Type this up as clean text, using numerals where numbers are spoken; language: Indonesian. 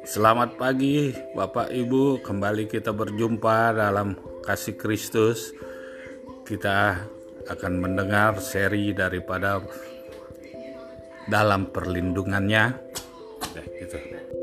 Selamat pagi Bapak Ibu, kembali kita berjumpa dalam kasih Kristus. Kita akan mendengar seri daripada dalam perlindungannya. Gitu.